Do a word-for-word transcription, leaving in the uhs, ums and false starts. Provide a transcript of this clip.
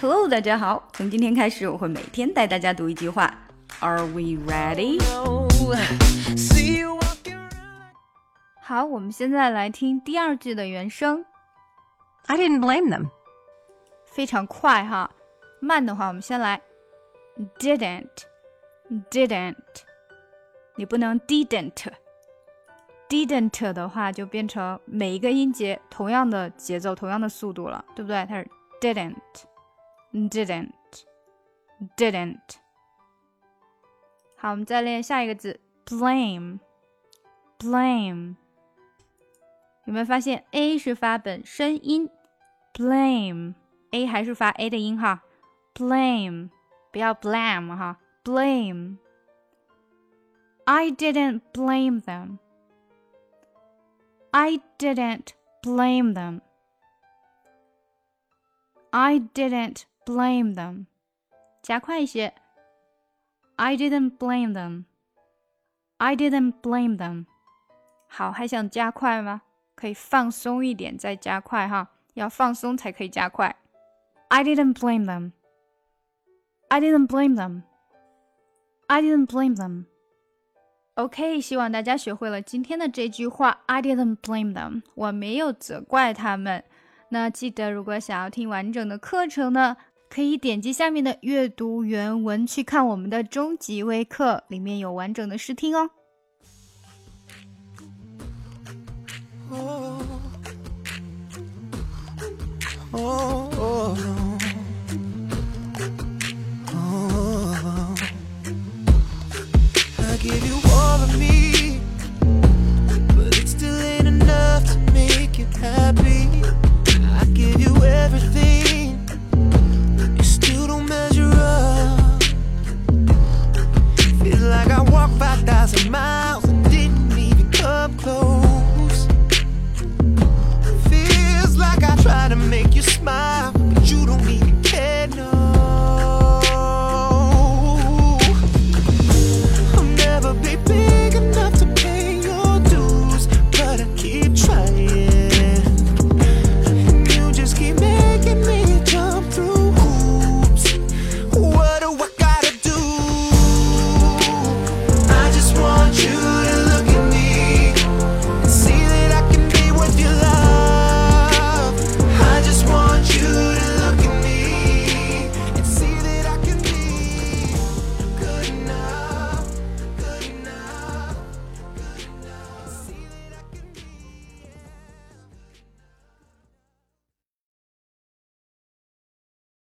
Hello， 大家好，从今天开始我会每天带大家读一句话。Are we ready？ 好，我们现在来听第二句的原声。 I didn't blame them. 非常快哈，慢的话我们先来 didn't didn't， 你不能 didn't didn't 的话就变成每一个音节同样的节奏同样的速度了，对不对？它是 didn't didn't didn't。 好，我们再练下一个字 blame blame。 有没有发现 A 是发本身音 blame， A 还是发 A 的音哈， blame 不要 blame 哈， blame。 I didn't blame them I didn't blame them I didn't blame them， 加快一些 I didn't blame them I didn't blame them。 好，还想加快吗？可以放松一点再加快哈，要放松才可以加快。 I didn't blame them I didn't blame them I didn't blame them。 OK， 希望大家学会了今天的这句话 I didn't blame them， 我没有责怪他们。那记得如果想要听完整的课程呢，可以点击下面的阅读原文去看我们的终极微课，里面有完整的试听哦。 Oh, oh, oh, oh. I give you all of me, but it still ain't enough to make you happy. I give you everything, you still don't measure up. Feel like I walked five thousand miles and didn't even come close. Feels like I try to make you smile,